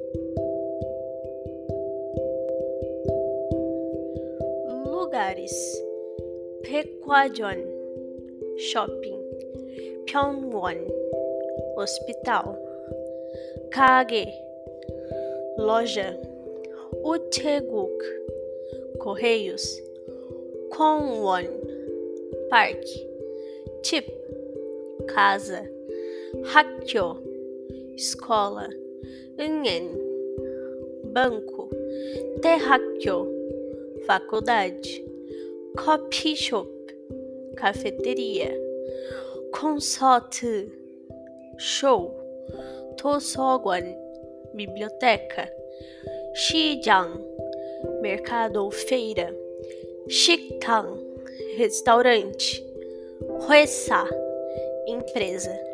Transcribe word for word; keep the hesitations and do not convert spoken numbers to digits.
Lugares: Pekwajong Shopping, Pyeongwon Hospital, Kage Loja, Uteguk Correios, Kwangwon Parque, Tip Casa, Hakyo Escola, Eungen Banco, Terráqueo Faculdade, Coffee Shop Cafeteria, Concert Show, Tosogon Biblioteca, Shijang Mercado ou Feira, Shikang Restaurante, Huesa Empresa.